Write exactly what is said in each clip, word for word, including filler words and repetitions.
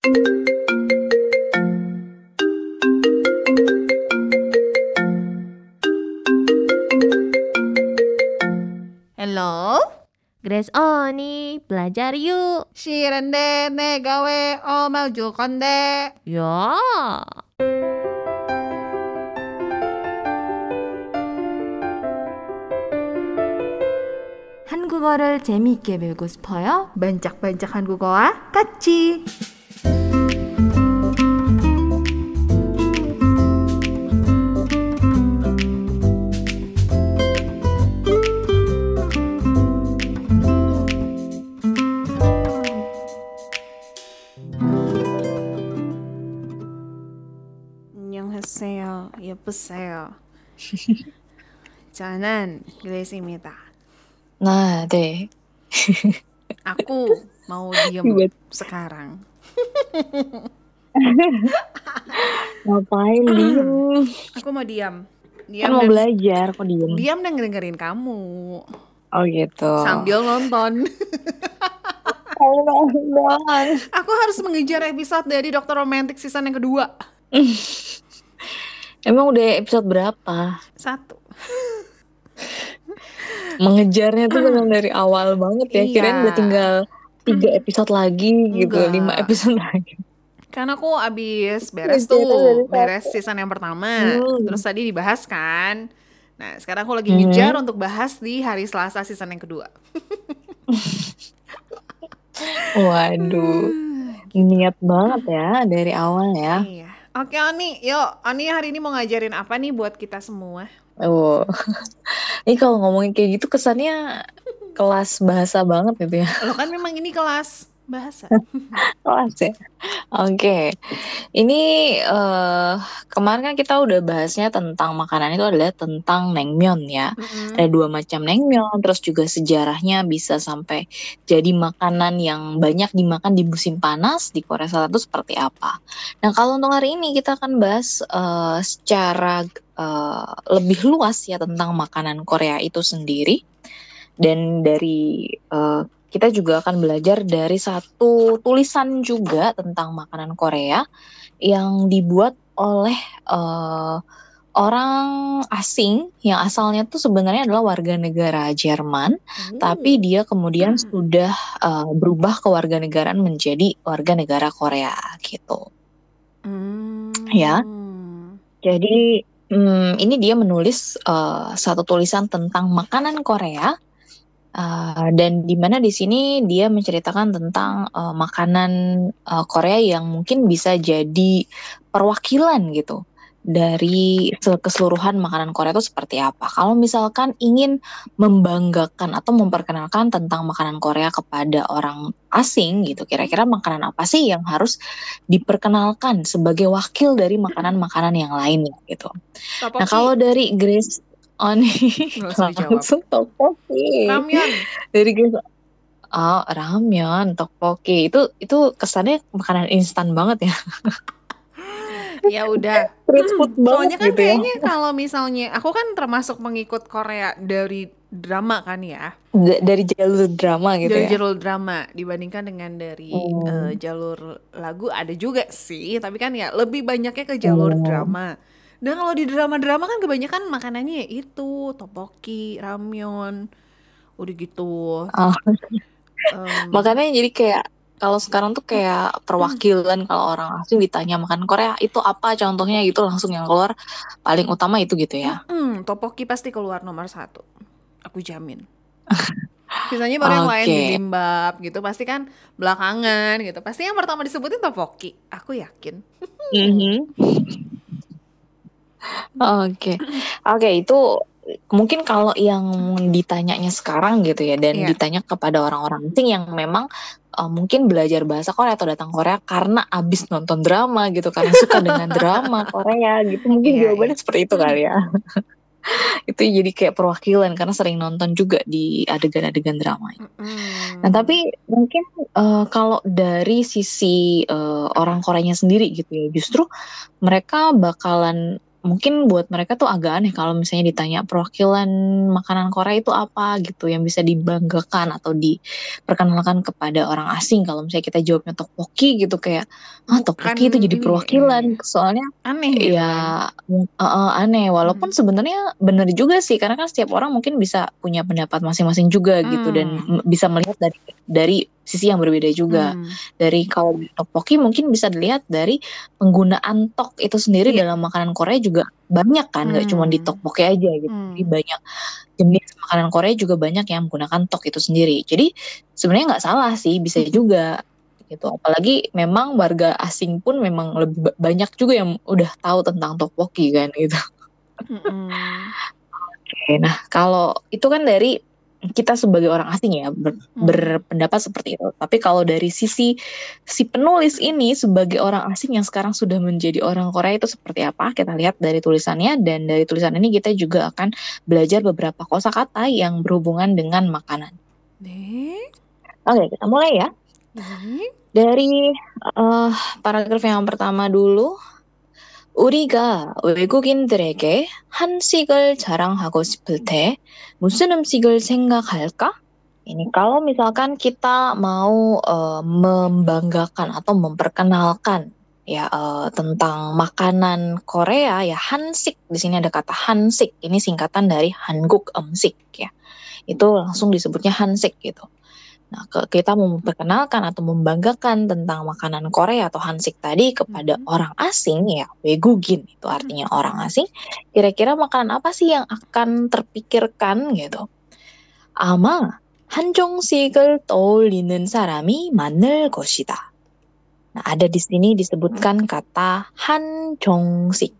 Hello? Grace Oni, belajar yuk. 싫은데 내가 왜 엄마 줄 건데? 야. 한국어를 재미있게 배우고 싶어요? 반짝반짝 한국어와 같이. 안녕하세요. 예쁘세요. 저는 그레이스입니다. Nah, deh. Aku mau diem Buat sekarang. ngapain diem? Aku mau diam. Kan Diam mau dan belajar, kok diem? diam dan dengerin kamu Oh gitu. sambil nonton. Oh, nonton. Aku harus mengejar episode dari Dokter Romantik season yang kedua. Emang udah episode berapa? Satu. Mengejarnya tuh memang dari awal banget ya. Kirain Iya. udah tinggal tiga episode lagi gitu, Enggak. lima episode lagi. Karena aku abis beres Ngejarnya tuh, dari beres satu. season yang pertama. Hmm. Terus tadi dibahas kan. Nah sekarang aku lagi Mhm. ngejar untuk bahas di hari Selasa season yang kedua. Waduh, niat banget ya dari awal ya. Iya. Oke Oni, yuk Oni hari ini mau ngajarin apa nih buat kita semua? Oh, ini kalau ngomongin kayak gitu kesannya kelas bahasa banget gitu ya. Lo kan memang ini kelas bahasa. Kelas ya. Oke, ini eh, kemarin kan kita udah bahasnya tentang makanan itu adalah tentang naengmyeon ya. Mm-mm. Ada dua macam naengmyeon, terus juga sejarahnya bisa sampai jadi makanan yang banyak dimakan di musim panas di Korea Selatan itu seperti apa. Nah, kalau untuk hari ini kita akan bahas eh, secara eh, lebih luas ya tentang makanan Korea itu sendiri. Dan dari eh, kita juga akan belajar dari satu tulisan juga tentang makanan Korea yang dibuat oleh eh, orang asing yang asalnya tuh sebenarnya adalah warga negara Jerman, tapi Uh. dia kemudian Hmm. sudah eh, berubah kewarganegaraan menjadi warga negara Korea gitu. Ya, Hmm. jadi hmm, ini dia menulis eh, satu tulisan tentang makanan Korea. Uh, dan di mana di sini dia menceritakan tentang uh, makanan uh, Korea yang mungkin bisa jadi perwakilan gitu dari se- keseluruhan makanan Korea itu seperti apa. Kalau misalkan ingin membanggakan atau memperkenalkan tentang makanan Korea kepada orang asing gitu, kira-kira makanan apa sih yang harus diperkenalkan sebagai wakil dari makanan-makanan yang lainnya gitu. Nah, kalau Tteokbokki. dari Grace Oni Nggak usah dijawab. langsung tteokbokki. Ramyeon. Dari Grace, oh ramyeon, tteokbokki itu itu kesannya makanan instan banget ya, Ya udah. street food Soalnya banget kan gitu ya. kayaknya kalau misalnya aku kan termasuk pengikut Korea dari drama kan ya. D- dari jalur drama gitu Dari ya. jalur drama dibandingkan dengan dari Hmm. eh, jalur lagu ada juga sih, tapi kan ya lebih banyaknya ke jalur Hmm. drama. Dan kalau di drama-drama kan kebanyakan makanannya ya itu tteokbokki, ramyeon, udah gitu. Oh, Em, makanya jadi kayak kalau sekarang tuh kayak perwakilan kalau orang asing ditanya makan Korea itu apa contohnya gitu langsung yang keluar paling utama itu gitu ya. mm, tteokbokki pasti keluar nomor satu, aku jamin. Biasanya baru yang lain Oke. bibimbap gitu, pasti kan belakangan gitu. Pasti yang pertama disebutin tteokbokki, aku yakin. Mhm. Oke, oke itu mungkin kalau yang ditanyanya sekarang gitu ya, dan Iya. ditanya kepada orang-orang asing yang memang uh, mungkin belajar bahasa Korea atau datang Korea karena abis nonton drama gitu, karena suka dengan drama Korea gitu, mungkin Iya, jawabannya iya. seperti itu kali ya. Itu jadi kayak perwakilan karena sering nonton juga di adegan-adegan drama. Nah, Mm-mm. tapi mungkin uh, kalau dari sisi uh, orang Koreanya sendiri gitu ya, justru mereka bakalan mungkin buat mereka tuh agak aneh kalau misalnya ditanya perwakilan makanan Korea itu apa gitu yang bisa dibanggakan atau diperkenalkan kepada orang asing. Kalau misalnya kita jawabnya tteokbokki gitu kayak, ah tteokbokki itu Bukan jadi ini, perwakilan. iya. Soalnya Aneh gitu ya kan. mung- eh, eh, aneh. Walaupun Hmm. sebenarnya benar juga sih karena kan setiap orang mungkin bisa punya pendapat masing-masing juga gitu dan Hmm. m- bisa melihat dari dari sisi yang berbeda juga. Hmm. Dari kalau di tteokbokki mungkin bisa dilihat dari penggunaan tok itu sendiri Iya. dalam makanan Korea juga banyak kan, nggak cuma di Hmm. tteokbokki aja gitu. Jadi Hmm. banyak jenis makanan Korea juga banyak yang menggunakan tok itu sendiri. Jadi sebenarnya nggak salah sih, bisa juga gitu. Apalagi memang warga asing pun memang lebih ba- banyak juga yang udah tahu tentang tteokbokki kan gitu. Mm-mm. Oke, nah kalau itu kan dari kita sebagai orang asing ya ber- Hmm. berpendapat seperti itu. Tapi kalau dari sisi si penulis ini sebagai orang asing yang sekarang sudah menjadi orang Korea itu seperti apa? Kita lihat dari tulisannya dan dari tulisan ini kita juga akan belajar beberapa kosakata yang berhubungan dengan makanan. 네. Oke, kita mulai ya. 네. Dari eh, paragraf yang pertama dulu. 우리가 외국인들에게 한식을 자랑하고 싶을 때 무슨 음식을 생각할까? Ini kalau misalkan kita mau eh, membanggakan atau memperkenalkan ya eh, tentang makanan Korea ya hansik, di sini ada kata hansik, ini singkatan dari Hanguk Eumsik ya. Itu langsung disebutnya hansik gitu. Nah, ke- kita mau memperkenalkan atau membanggakan tentang makanan Korea atau hansik tadi kepada Mhm. orang asing ya, 외국인 itu artinya orang asing. Kira-kira makanan apa sih yang akan terpikirkan gitu? 아마 한정식을 떠올리는 사람이 많을 것이다. Nah, ada di sini disebutkan kata 한정식.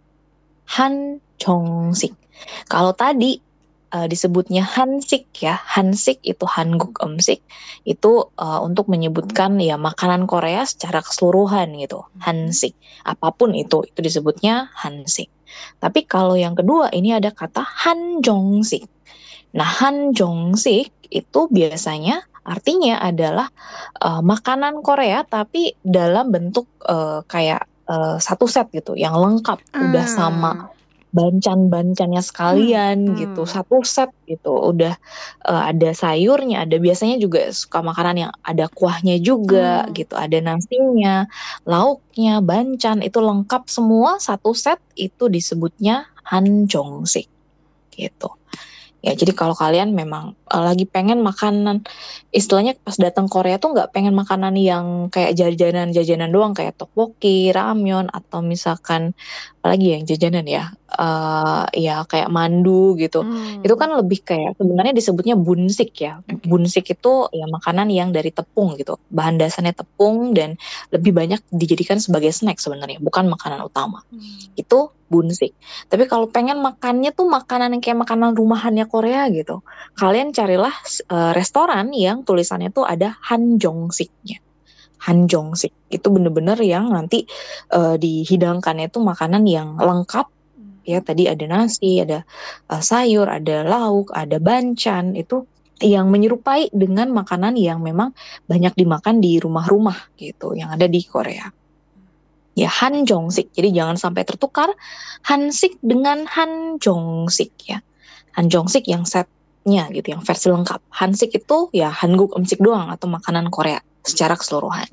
한정식. Kalau tadi uh, disebutnya hansik ya, hansik itu Hanguk Eumsik, itu uh, untuk menyebutkan ya makanan Korea secara keseluruhan gitu, hansik. Apapun itu, itu disebutnya hansik. Tapi kalau yang kedua ini ada kata hanjongsik. Nah, hanjongsik itu biasanya artinya adalah uh, makanan Korea tapi dalam bentuk uh, kayak uh, satu set gitu, yang lengkap, udah sama Ah. bancan-bancannya sekalian Hmm, gitu, hmm. satu set gitu, udah uh, ada sayurnya, ada biasanya juga suka makanan yang ada kuahnya juga Hmm. gitu, ada nasinya, lauknya, bancan, itu lengkap semua satu set, itu disebutnya hanjongsik gitu. Ya, jadi kalau kalian memang uh, lagi pengen makanan, istilahnya pas datang Korea tuh nggak pengen makanan yang kayak jajanan-jajanan doang, kayak tteokbokki, ramyeon, atau misalkan apalagi yang jajanan ya, uh, ya kayak mandu gitu. Hmm. Itu kan lebih kayak sebenarnya disebutnya bunsik ya. Oke. Bunsik itu ya makanan yang dari tepung gitu. Bahan dasarnya tepung dan lebih banyak dijadikan sebagai snack sebenarnya, bukan makanan utama. Hmm. Itu bunsik. Tapi kalau pengen makannya tuh makanan yang kayak makanan rumahannya Korea gitu, kalian carilah uh, restoran yang tulisannya tuh ada hanjongsiknya. Hanjongsik itu bener-bener yang nanti uh, dihidangkannya tuh makanan yang lengkap ya, tadi ada nasi, ada uh, sayur, ada lauk, ada bancan, itu yang menyerupai dengan makanan yang memang banyak dimakan di rumah-rumah gitu yang ada di Korea. Ya, hanjongsik. Jadi jangan sampai tertukar hansik dengan hanjongsik ya. Hanjongsik yang setnya gitu, yang versi lengkap. Hansik itu ya Hanguk Eumsik doang atau makanan Korea secara keseluruhan.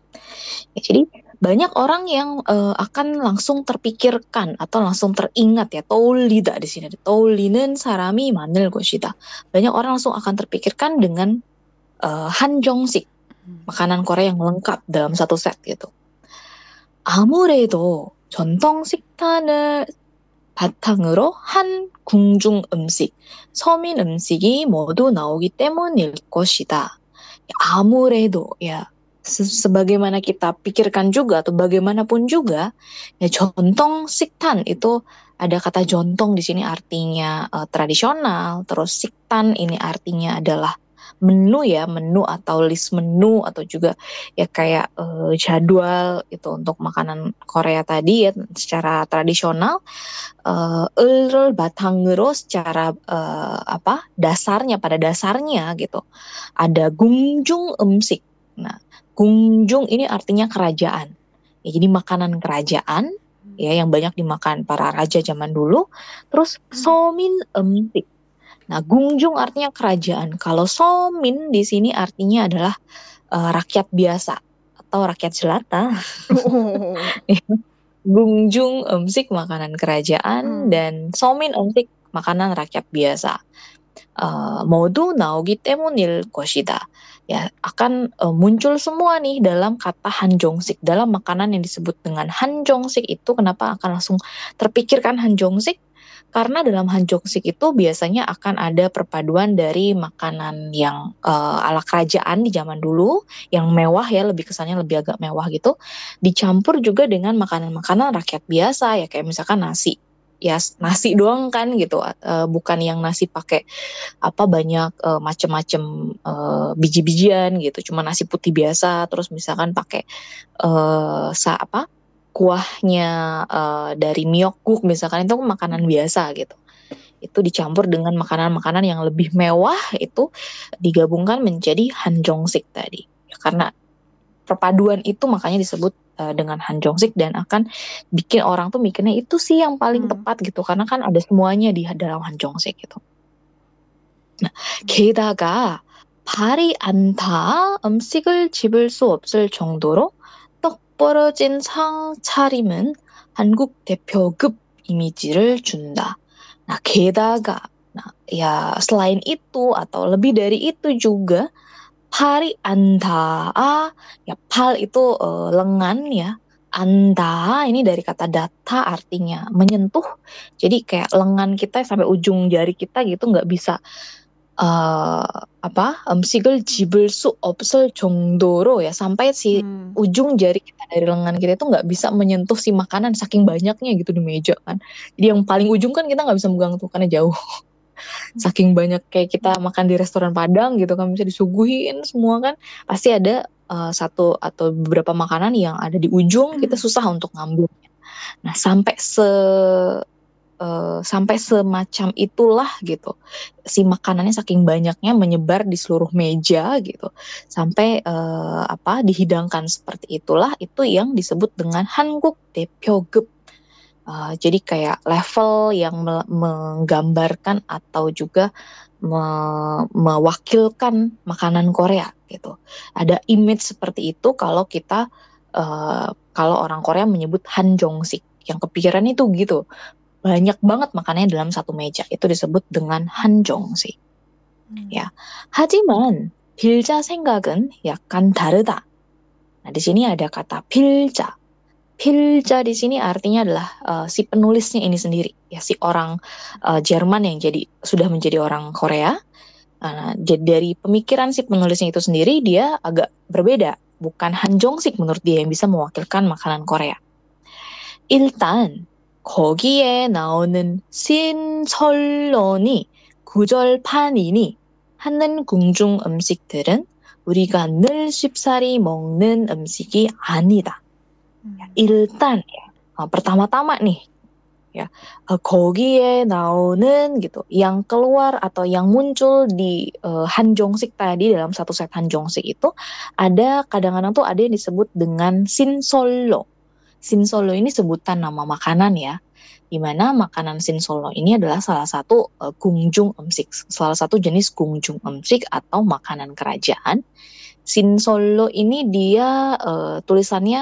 Ya, jadi banyak orang yang uh, akan langsung terpikirkan atau langsung teringat ya, 떠올리다 di sini. 떠올리는 사람이 많을 것이다. Banyak orang langsung akan terpikirkan dengan uh, hanjongsik, makanan Korea yang lengkap dalam satu set gitu. 아무래도 전통 식단을 바탕으로 한 궁중 음식, 서민 음식이 모두 나오기 때문일 것이다. Ya, 아무래도 ya se- sebagaimana kita pikirkan juga atau bagaimanapun juga ya jontong siktan itu ada kata jontong di sini artinya uh, tradisional, terus siktan ini artinya adalah menu ya, menu atau list menu atau juga ya kayak uh, jadwal itu untuk makanan Korea tadi ya secara tradisional. uh, 을을 바탕으로 secara uh, apa dasarnya pada dasarnya gitu ada 궁중 음식. Nah, 궁중 ini artinya kerajaan ya, jadi makanan kerajaan ya yang banyak dimakan para raja zaman dulu. Terus somin emsik. Nah, gungjung artinya kerajaan. Kalau somin di sini artinya adalah uh, rakyat biasa atau rakyat jelata. Oh. Gungjung emsik makanan kerajaan Hmm. dan somin emsik makanan rakyat biasa. Uh, modu naogi temunil 것이다. Ya, akan uh, muncul semua nih dalam kata hanjongsik. Dalam makanan yang disebut dengan hanjongsik itu kenapa akan langsung terpikirkan hanjongsik? Karena dalam hanjongsik itu biasanya akan ada perpaduan dari makanan yang uh, ala kerajaan di zaman dulu, yang mewah ya, lebih kesannya lebih agak mewah gitu, dicampur juga dengan makanan-makanan rakyat biasa ya, kayak misalkan nasi. Ya nasi doang kan gitu, uh, bukan yang nasi pakai apa banyak uh, macam-macam uh, biji-bijian gitu, cuma nasi putih biasa, terus misalkan pakai uh, sa apa kuahnya uh, dari miokguk misalkan, itu makanan biasa gitu. Itu dicampur dengan makanan-makanan yang lebih mewah, itu digabungkan menjadi hanjongsik tadi. Ya, karena perpaduan itu makanya disebut uh, dengan hanjongsik dan akan bikin orang tuh mikirnya itu sih yang paling Hmm. tepat gitu, karena kan ada semuanya di dalam hanjongsik gitu. Nah, 게다가 발이 안타 음식을 집을 수 없을 정도로 떡 벌어진 상차림은 한국 대표급 이미지를 준다. Nah, 게다가, nah, ya selain itu atau lebih dari itu juga, pari anda, ya pal itu uh, lengan ya, anda ini dari kata data artinya menyentuh, jadi kayak lengan kita sampai ujung jari kita gitu nggak bisa uh, apa 음식을 집을 수 없을 정도로 ya, sampai si Hmm. ujung jari kita dari lengan kita itu nggak bisa menyentuh si makanan saking banyaknya gitu di meja kan. Jadi yang paling ujung kan kita nggak bisa megang tuh karena jauh. Saking banyak kayak kita makan di restoran Padang gitu kan, bisa disuguhin semua kan, pasti ada uh, satu atau beberapa makanan yang ada di ujung, kita susah untuk ngambilnya. Nah, sampai se uh, sampai semacam itulah gitu, si makanannya saking banyaknya menyebar di seluruh meja gitu, sampai uh, apa dihidangkan seperti itulah, itu yang disebut dengan 한국 대표급. Uh, jadi kayak level yang me- menggambarkan atau juga me- mewakilkan makanan Korea gitu. Ada image seperti itu kalau kita uh, kalau orang Korea menyebut hanjongsik, yang kepikiran itu gitu. Banyak banget makanannya dalam satu meja, itu disebut dengan hanjongsik. Hmm. Ya. 하지만 빌자 생각은 약간 다르다. Nah, di sini ada kata 빌자. Pilja di sini artinya adalah uh, si penulisnya ini sendiri, ya si orang uh, Jerman yang jadi sudah menjadi orang Korea. Uh, jadi dari pemikiran si penulisnya itu sendiri, dia agak berbeda, bukan hanjongsik menurut dia yang bisa mewakilkan makanan Korea. 일단 거기에 나오는 신설론이 구절판이니 하는 궁중 음식들은 우리가 늘 쉽사리 먹는 음식이 아니다. Hmm. 일단 ya, uh, pertama-tama nih ya, uh, 거기에 나오는 gitu, yang keluar atau yang muncul di uh, hanjongsik tadi, dalam satu set hanjongsik itu ada kadang-kadang tuh ada yang disebut dengan 신설로. 신설로 ini sebutan nama makanan ya, dimana makanan 신설로 ini adalah salah satu uh, gungjung 음식, salah satu jenis gungjung 음식 atau makanan kerajaan. 신설로 ini dia uh, tulisannya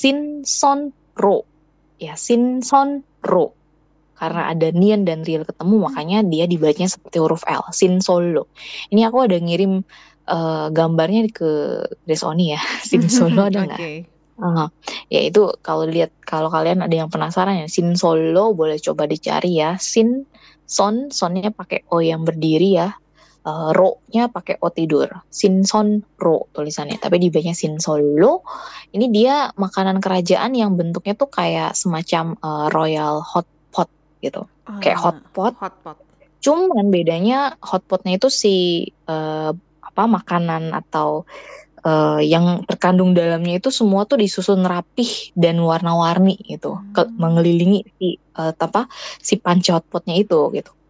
신선로, ya 신선로, karena ada nian dan riel ketemu makanya dia dibacanya seperti huruf L, 신설로. Ini aku ada ngirim uh, gambarnya ke Grace Oni ya, 신설로 ada nggak? Oke. Uh, ya itu kalau lihat, kalau kalian ada yang penasaran ya, 신설로 boleh coba dicari ya, sin son sonnya pakai o yang berdiri ya. Uh, ro-nya pakai o tidur, 신선로 tulisannya, tapi dibacanya 신설로. Ini dia makanan kerajaan yang bentuknya tuh kayak semacam uh, royal hot pot gitu, kayak Ah, hot pot. hot pot. Cuman bedanya hot potnya itu si uh, apa makanan atau uh, yang terkandung dalamnya itu semua tuh disusun rapih dan warna-warni gitu, ke- Hmm. mengelilingi si uh, apa si panci hot potnya itu gitu.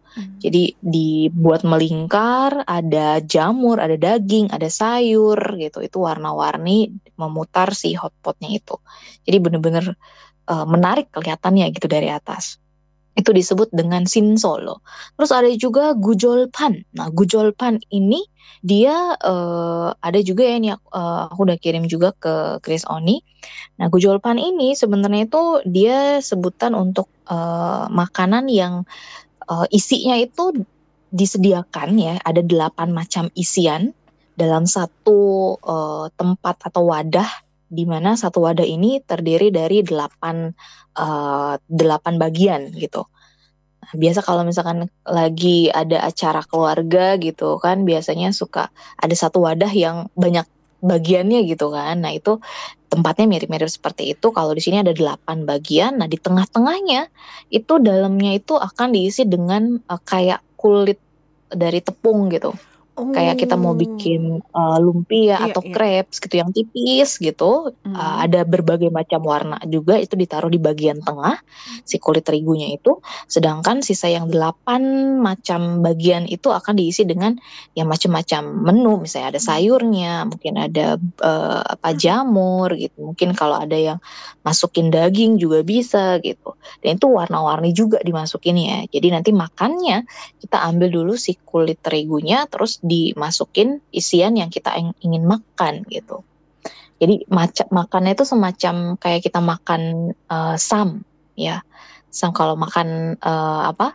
Hmm. Jadi dibuat melingkar, ada jamur, ada daging, ada sayur gitu. Itu warna-warni memutar si hotpotnya itu. Jadi bener-bener uh, menarik kelihatannya gitu dari atas. Itu disebut dengan sinsolo. Terus ada juga gujolpan. Nah, gujolpan ini dia uh, ada juga ya nih uh, aku udah kirim juga ke Chris Oni. Nah, gujolpan ini sebenarnya itu dia sebutan untuk uh, makanan yang uh, isinya itu disediakan ya, ada delapan macam isian dalam satu uh, tempat atau wadah, di mana satu wadah ini terdiri dari delapan uh, delapan bagian gitu. Nah, biasa kalau misalkan lagi ada acara keluarga gitu kan, biasanya suka ada satu wadah yang banyak bagiannya gitu kan. Nah, itu tempatnya mirip-mirip seperti itu. Kalau di sini ada delapan bagian. Nah, di tengah-tengahnya itu dalamnya itu akan diisi dengan uh, kayak kulit dari tepung gitu. Oh. Kayak kita mau bikin uh, lumpia Iya, atau iya. crepes gitu yang tipis gitu. Hmm. Uh, ada berbagai macam warna juga, itu ditaruh di bagian tengah si kulit terigunya itu. Sedangkan sisa yang delapan macam bagian itu akan diisi dengan yang macam-macam menu. Misalnya ada sayurnya, mungkin ada uh, apa jamur gitu. Mungkin kalau ada yang masukin daging juga bisa gitu. Dan itu warna-warni juga dimasukin ya. Jadi nanti makannya kita ambil dulu si kulit terigunya, terus dimasukin isian yang kita ingin makan gitu. Jadi macam makannya itu semacam kayak kita makan uh, sam ya. Sam kalau makan uh, apa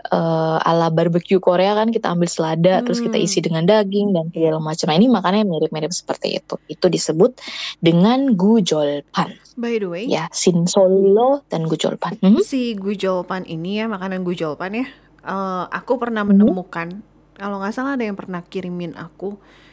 uh, ala barbecue Korea kan kita ambil selada, hmm. terus kita isi dengan daging dan segala macam. Nah, ini makannya mirip-mirip seperti itu. Itu disebut dengan gujolpan. By the way, ya, sinsolo dan gujolpan. Hmm? Si gujolpan ini ya, makanan gujolpan ya. Uh, aku pernah Hmm. menemukan, kalau nggak salah ada yang pernah kirimin aku.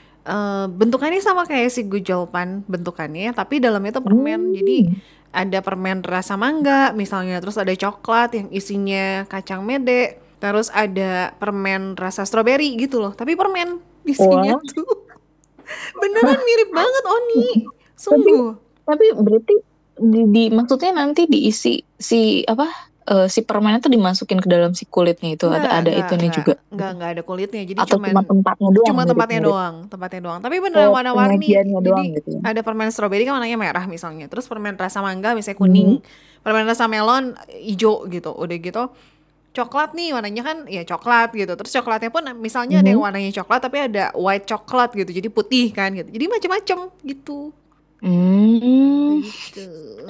Uh, bentukannya sama kayak si gujolpan bentukannya, tapi dalamnya itu permen. Hmm. Jadi ada permen rasa mangga misalnya, terus ada coklat yang isinya kacang mede, terus ada permen rasa stroberi gitu loh. Tapi permen isinya Wah. tuh beneran mirip banget Oni, sungguh. Tapi berarti di, di maksudnya nanti diisi si apa uh, si permennya tuh dimasukin ke dalam si kulitnya itu. Nggak, ada ada nggak, itunya nggak, juga. nggak, nggak ada kulitnya. Jadi Atau cuman cuma tempatnya doang. cuma tempatnya mirip-mirip. doang, tempatnya doang. Tapi beneran Oh, warna-warni. penyajiannya Jadi doang gitu ya. ada permen stroberi kan warnanya merah misalnya. Terus permen rasa mangga misalnya kuning. Permen rasa melon hijau gitu. Udah gitu coklat nih warnanya kan ya coklat gitu. Terus coklatnya pun misalnya ada yang warnanya coklat tapi ada white coklat gitu. Jadi putih kan gitu. Jadi macam-macam gitu. Hmm. Gitu.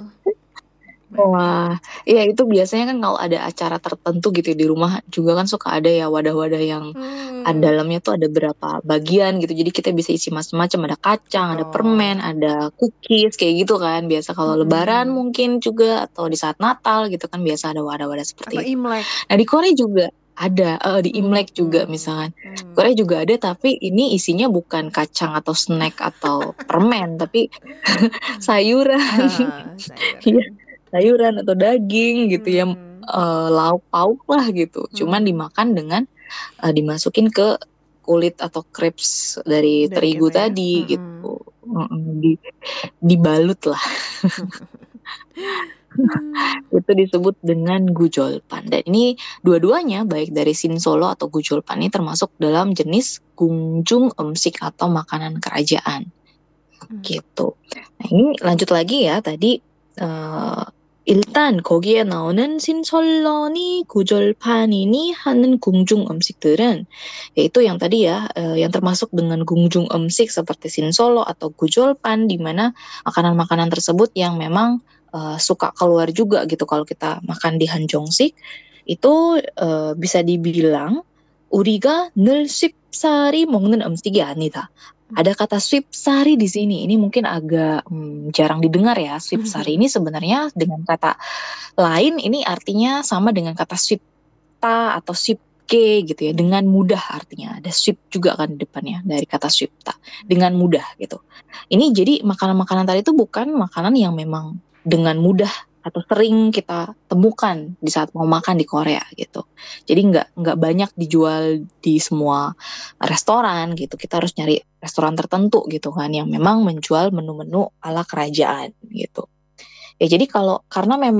Wah, iya itu biasanya kan kalau ada acara tertentu gitu di rumah juga kan suka ada ya wadah-wadah yang Hmm. ada dalamnya tuh ada berapa bagian gitu. Jadi kita bisa isi macam-macam, ada kacang, ada Betul. permen, ada cookies kayak gitu kan. Biasa kalau Mm-mm. lebaran mungkin juga atau di saat Natal gitu kan biasa ada wadah-wadah seperti Atau itu. Imlek. Nah, di Korea juga ada, eh, di Imlek juga Hmm. misalkan. Hmm. Korea juga ada tapi ini isinya bukan kacang atau snack atau permen tapi sayuran. Ah, Iya, sayuran. sayuran atau daging gitu ya, Hmm. eh, lauk pauk lah gitu. Cuman Hmm. dimakan dengan eh, dimasukin ke kulit atau crepes dari, Dari terigu itu ya. tadi Mm-mm. gitu. Mm-mm, di dibalut lah. Hmm. Itu disebut dengan gujolpan. Dan ini dua-duanya baik dari sinsolo atau gujolpan ini termasuk dalam jenis gungjung emsik atau makanan kerajaan. Hmm. Gitu. Nah, ini lanjut lagi ya tadi. 어, 일단 거기에 나오는 신설런이 구절판이니 하는 궁중 음식들은 yaitu yang tadi ya eh, yang termasuk dengan 궁중 음식 seperti sinsolo atau gujolpan di mana makanan-makanan tersebut yang memang eh, suka keluar juga gitu kalau kita makan di 한정식 itu eh, bisa dibilang 우리가 늘 쉽사리 먹는 음식이 아니다. Ada kata swipsari di sini. Ini mungkin agak hmm, jarang didengar ya. Swipsari ini sebenarnya dengan kata lain ini artinya sama dengan kata swipta atau swipke gitu ya. Dengan mudah artinya. Ada swip juga kan di depannya dari kata swipta. Dengan mudah gitu. Ini jadi makanan-makanan tadi itu bukan makanan yang memang dengan mudah atau sering kita temukan di saat mau makan di Korea gitu. Jadi nggak nggak banyak dijual di semua restoran gitu. Kita harus nyari restoran tertentu gitu kan yang memang menjual menu-menu ala kerajaan gitu. Ya jadi kalau karena memang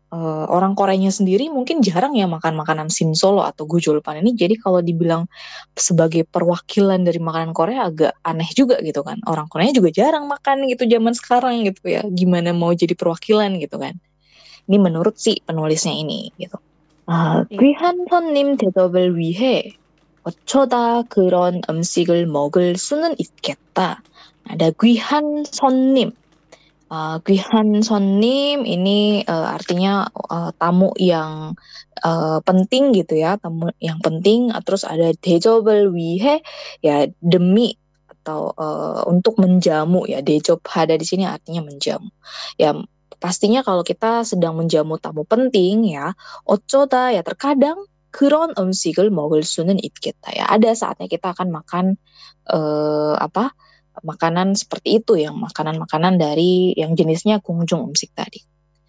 uh, orang Koreanya sendiri mungkin jarang ya makan makanan simsolo atau gujolpan ini. Jadi kalau dibilang sebagai perwakilan dari makanan Korea agak aneh juga gitu kan. Orang Koreanya juga jarang makan gitu zaman sekarang gitu ya. Gimana mau jadi perwakilan gitu kan. Ini menurut si penulisnya ini gitu. 아, Iya. 귀한 손님 대접을 위해 어쩌다 그런 음식을 먹을 수는 있겠다. Ada 귀한 손님. Uh, 귀한 손님 ini uh, artinya uh, tamu yang uh, penting gitu ya, tamu yang penting. Terus ada 대접을 위해 ya demi atau uh, untuk menjamu ya. 대접 ada di sini artinya menjamu. Ya pastinya kalau kita sedang menjamu tamu penting ya, 어쩌다 ya terkadang 그런 음식을 먹을 수는 있겠다 ya. Ada saatnya kita akan makan uh, apa? makanan seperti itu yang makanan-makanan dari yang jenisnya 궁중 음식 tadi.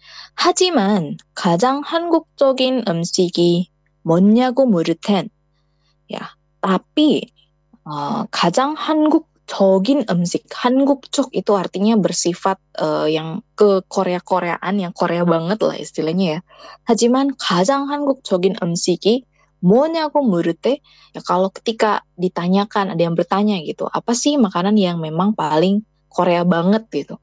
하지만 가장 한국적인 음식이 뭐냐고 물을 텐. Ya, tapi uh, 가장 한국적인 음식, 한국적 itu artinya bersifat uh, yang ke Korea-Koreaan, yang Korea banget lah istilahnya ya. 하지만 가장 한국적인 음식이 뭐냐고 물을 때, ya kalau ketika ditanyakan, ada yang bertanya gitu, apa sih makanan yang memang paling Korea banget gitu.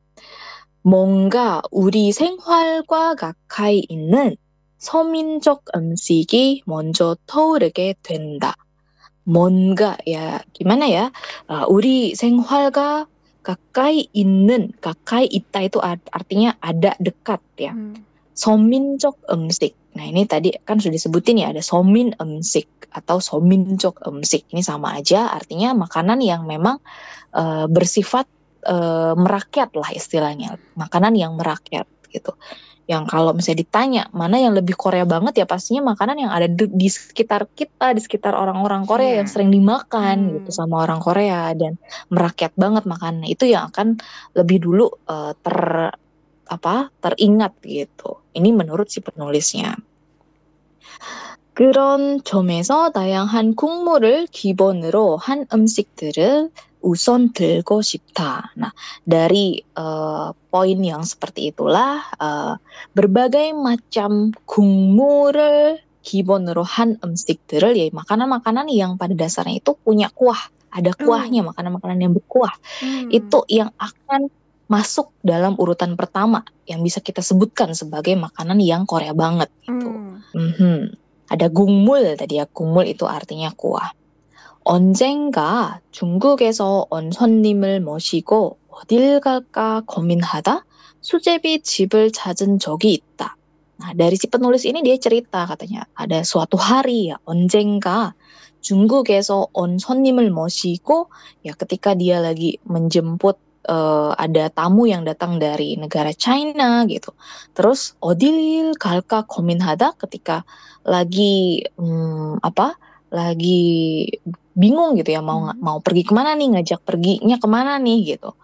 뭔가 우리 생활과 가까이 있는 서민적 음식이 먼저 떠오르게 된다. 뭔가, ya gimana ya, uh, 우리 생활과 가까이 있는, 가까이 있다 itu artinya ada dekat ya. Hmm. 서민적 음식. Nah ini tadi kan sudah disebutin ya, ada somin 음식 atau sominjok 음식. Ini sama aja, artinya makanan yang memang uh, bersifat uh, merakyat lah istilahnya. Makanan yang merakyat gitu. Yang kalau misalnya ditanya, mana yang lebih Korea banget ya pastinya makanan yang ada di, di sekitar kita, di sekitar orang-orang Korea yeah. yang sering dimakan hmm. gitu sama orang Korea dan merakyat banget makanannya. Itu yang akan lebih dulu uh, ter apa teringat gitu. Ini menurut si penulisnya. 그런 점에서 다양한 국물을 기본으로 한 음식들을 우선 들고 싶다. Nah, dari uh, poin yang seperti itulah uh, berbagai macam 국물을 기본으로 한 음식들을 ya makanan-makanan yang pada dasarnya itu punya kuah, ada kuahnya, mm. makanan-makanan yang berkuah. Mm. Itu yang akan masuk dalam urutan pertama yang bisa kita sebutkan sebagai makanan yang Korea banget gitu. Mm. Mm-hmm. Ada 국물 tadi ya, 국물 itu artinya kuah. 언젠가 중국에서 온 손님을 모시고 어딜 갈까 고민하다 수제비 집을 찾은 적이 있다. Nah, dari si penulis ini dia cerita katanya ada suatu hari ya, 언젠가 중국에서 온 손님을 모시고 ya ketika dia lagi menjemput Uh, ada tamu yang datang dari negara China gitu. Terus 어딜 갈까 고민하다 ketika lagi um, apa? lagi bingung gitu ya mau hmm. mau pergi kemana nih, ngajak perginya kemana nih gitu.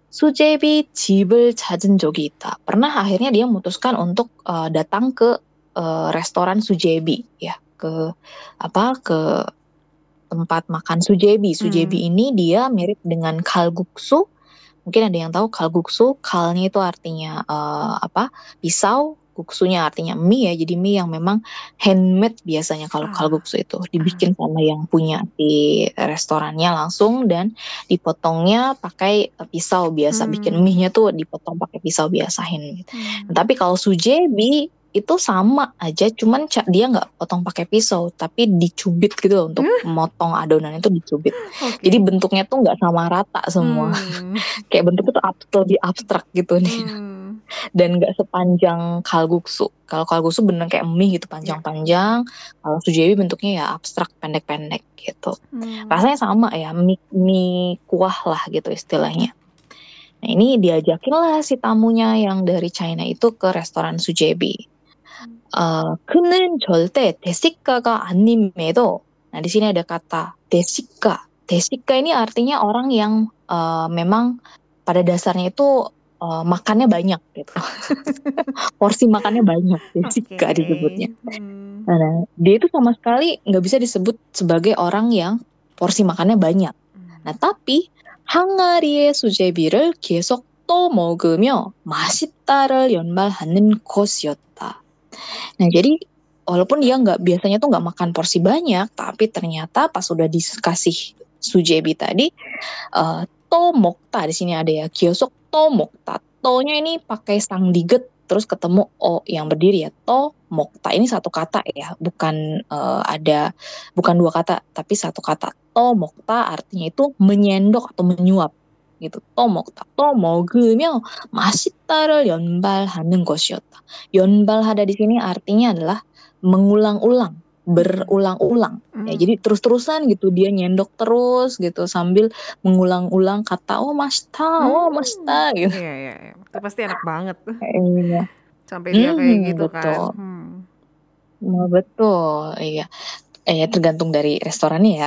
수제비 집을 찾은 적이 있다. Pernah akhirnya dia memutuskan untuk uh, datang ke uh, restoran sujebi ya, ke apa? ke tempat makan sujebi. Sujebi hmm. ini dia mirip dengan kalguksu. Mungkin ada yang tahu kalguksu, kalnya itu artinya uh, apa? pisau, guksunya artinya mie ya. Jadi mie yang memang handmade biasanya kalau ah. kalguksu itu dibikin sama yang punya di restorannya langsung dan dipotongnya pakai pisau biasa. Hmm. Bikin mie-nya tuh dipotong pakai pisau biasa handmade. Hmm. Nah, tapi kalau sujebi itu sama aja, cuman dia nggak potong pakai pisau, tapi dicubit gitu loh, untuk hmm? motong adonan itu dicubit. Okay. Jadi bentuknya tuh nggak sama rata semua, hmm. kayak bentuknya tuh ab- lebih abstrak gitu nih, hmm. dan nggak sepanjang kalguksu. Kalau kalguksu bener kayak mie gitu panjang-panjang, kalau sujebi bentuknya ya abstrak pendek-pendek gitu. Hmm. Rasanya sama ya, mie, mie kuah lah gitu istilahnya. Nah ini diajakin lah si tamunya yang dari China itu ke restoran sujebi. Uh, 그는 절대 대식가가 아님에도, nah di sini ada kata 대식가. 대식가 ini artinya orang yang uh, memang pada dasarnya itu uh, makannya banyak gitu. Porsi makannya banyak, 대식가 okay. disebutnya. Hmm. Nah, dia itu sama sekali nggak bisa disebut sebagai orang yang porsi makannya banyak. Hmm. Nah tapi 항아리의 수제비를 계속 또 먹으며 맛있다를 연말하는 곳이었다. Nah jadi walaupun dia nggak biasanya tuh nggak makan porsi banyak, tapi ternyata pas udah dikasih sujebi tadi, uh, to mokta di sini ada ya, gyosok to mokta. To-nya ini pakai sang diget terus ketemu o yang berdiri ya, to mokta. Ini satu kata ya, bukan uh, ada bukan dua kata, tapi satu kata. To mokta artinya itu menyendok atau menyuap gitu. To mokta. To 먹으며 맛있다를 연발하는 것이었다. 연발하다 di sini artinya adalah mengulang-ulang, berulang-ulang. Hmm. Ya, jadi terus-terusan gitu dia nyendok terus gitu sambil mengulang-ulang kata oh masita, oh masita gitu. Iya, iya, iya. Itu pasti enak banget tuh. Iya. Sampai dia kayak Hmm, gitu kan. betul. Hmm. Nah, betul. Iya. Eh tergantung dari restorannya ya.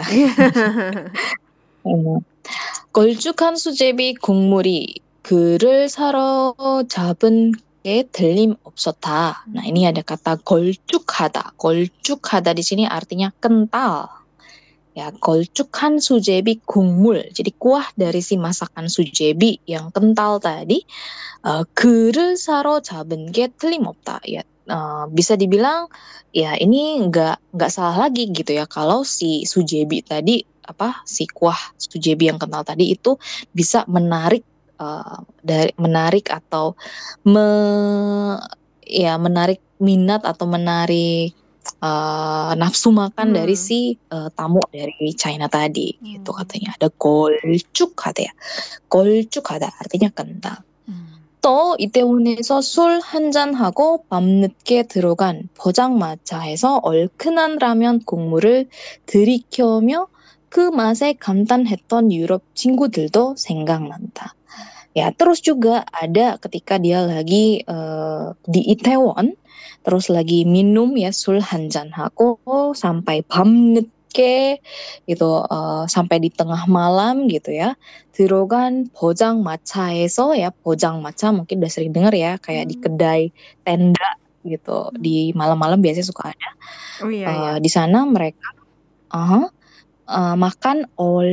음. 걸쭉한 수제비 국물이 그를 사러 잡은 게 틀림없었다. Nah, ini ada kata 걸쭉하다. 걸쭉하다 di sini artinya kental. Ya, 걸쭉한 수제비 국물. Jadi kuah dari si masakan sujebi yang kental tadi. Uh, 그를 사러 잡은 게 틀림없다. Ya, uh, bisa dibilang ya ini nggak nggak salah lagi gitu ya kalau si sujebi tadi apa si kuah sujebi yang kental tadi itu bisa menarik uh, dari menarik atau me, ya menarik minat atau menarik uh, nafsu makan Hmm. dari si uh, tamu dari China tadi gitu Hmm. katanya. Ada 걸쭉하다 ya. 걸쭉하다 artinya kental. Hmm. 또 이태원에서 술 한잔하고 밤늦게 들어간 포장마차에서 얼큰한 라면 국물을 들이켜며 그 맛에 감탄했던 유럽 친구들도 생각난다. Ya, terus juga ada ketika dia lagi uh, di Itaewon, terus lagi minum ya 술 한잔하고 sampai 밤늦게 gitu uh, sampai di tengah malam gitu ya. 들어간 포장마차에서 ya 포장마차 mungkin udah sering dengar ya kayak di kedai tenda gitu di malam-malam biasanya suka ada. Oh iya, iya. Uh, di sana mereka uh, uh, makan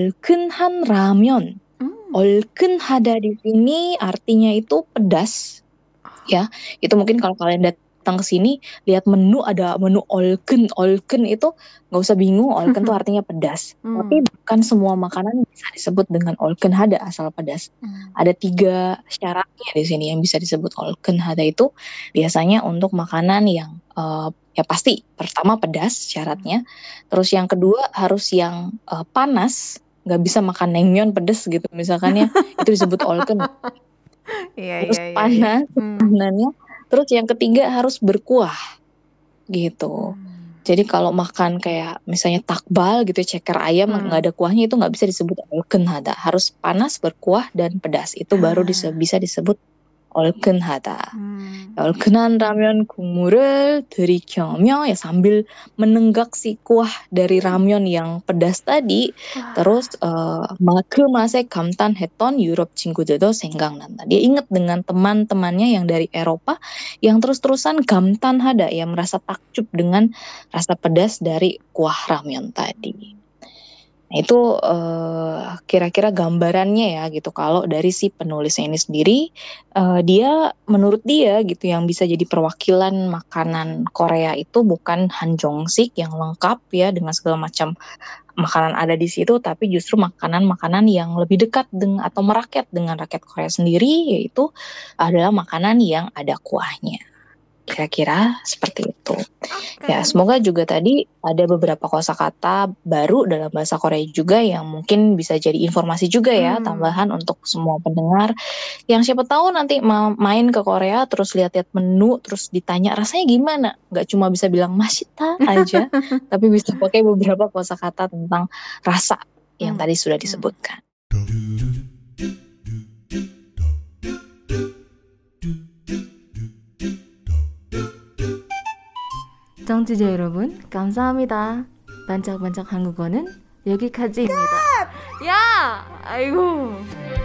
얼큰한 라면. Hmm. 얼큰하다 di sini artinya itu pedas. Ya, itu mungkin kalau kalian datang ke sini lihat menu ada menu 얼큰. 얼큰 itu nggak usah bingung, 얼큰 itu artinya pedas. Hmm. Tapi bukan semua makanan bisa disebut dengan 얼큰하다 asal pedas. Hmm. Ada tiga syaratnya di sini yang bisa disebut 얼큰하다 itu biasanya untuk makanan yang uh, ya pasti pertama pedas syaratnya. Terus yang kedua harus yang uh, panas, nggak bisa makan naengmyeon pedas gitu misalkan ya itu disebut 얼큰. Iya, Terus iya, iya, iya. panas Hmm. makanannya. Terus yang ketiga harus berkuah gitu. Hmm. Jadi kalau makan kayak misalnya takbal gitu ceker ayam Hmm. nggak ada kuahnya itu nggak bisa disebut 얼큰하다. Harus panas berkuah dan pedas itu baru dise- bisa disebut 얼큰하다. Hmm. 얼큰한 라면 국물을 들이켜며 ya sambil menenggak si kuah dari ramen yang pedas tadi. Terus uh, 그 맛에 감탄했던 유럽 친구들도 생각난다. Dia ingat dengan teman-temannya yang dari Eropa yang terus-terusan 감탄하다 yang merasa takjub dengan rasa pedas dari kuah ramen tadi. Nah, itu uh, kira-kira gambarannya ya gitu. Kalau dari si penulisnya ini sendiri, uh, dia menurut dia gitu yang bisa jadi perwakilan makanan Korea itu bukan hanjongsik yang lengkap ya dengan segala macam makanan ada di situ, tapi justru makanan-makanan yang lebih dekat dengan atau merakyat dengan rakyat Korea sendiri, yaitu adalah makanan yang ada kuahnya. Kira-kira seperti itu. Oke. Ya, semoga juga tadi ada beberapa kosakata baru dalam bahasa Korea juga yang mungkin bisa jadi informasi juga ya, Hmm. tambahan untuk semua pendengar yang siapa tahu nanti ma- main ke Korea terus lihat-lihat menu terus ditanya rasanya gimana, nggak cuma bisa bilang masita aja, tapi bisa pakai beberapa kosakata tentang rasa yang Hmm. tadi sudah Hmm. disebutkan. 정치자 여러분, 감사합니다. 반짝반짝 한국어는 여기까지입니다. 야! 아이고.